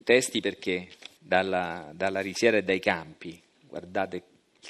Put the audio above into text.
Testi perché dalla risiera e dai campi, guardate